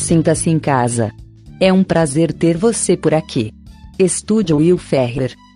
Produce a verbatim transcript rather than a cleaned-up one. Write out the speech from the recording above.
Sinta-se em casa. É um prazer ter você por aqui. Estúdio Will Ferrer.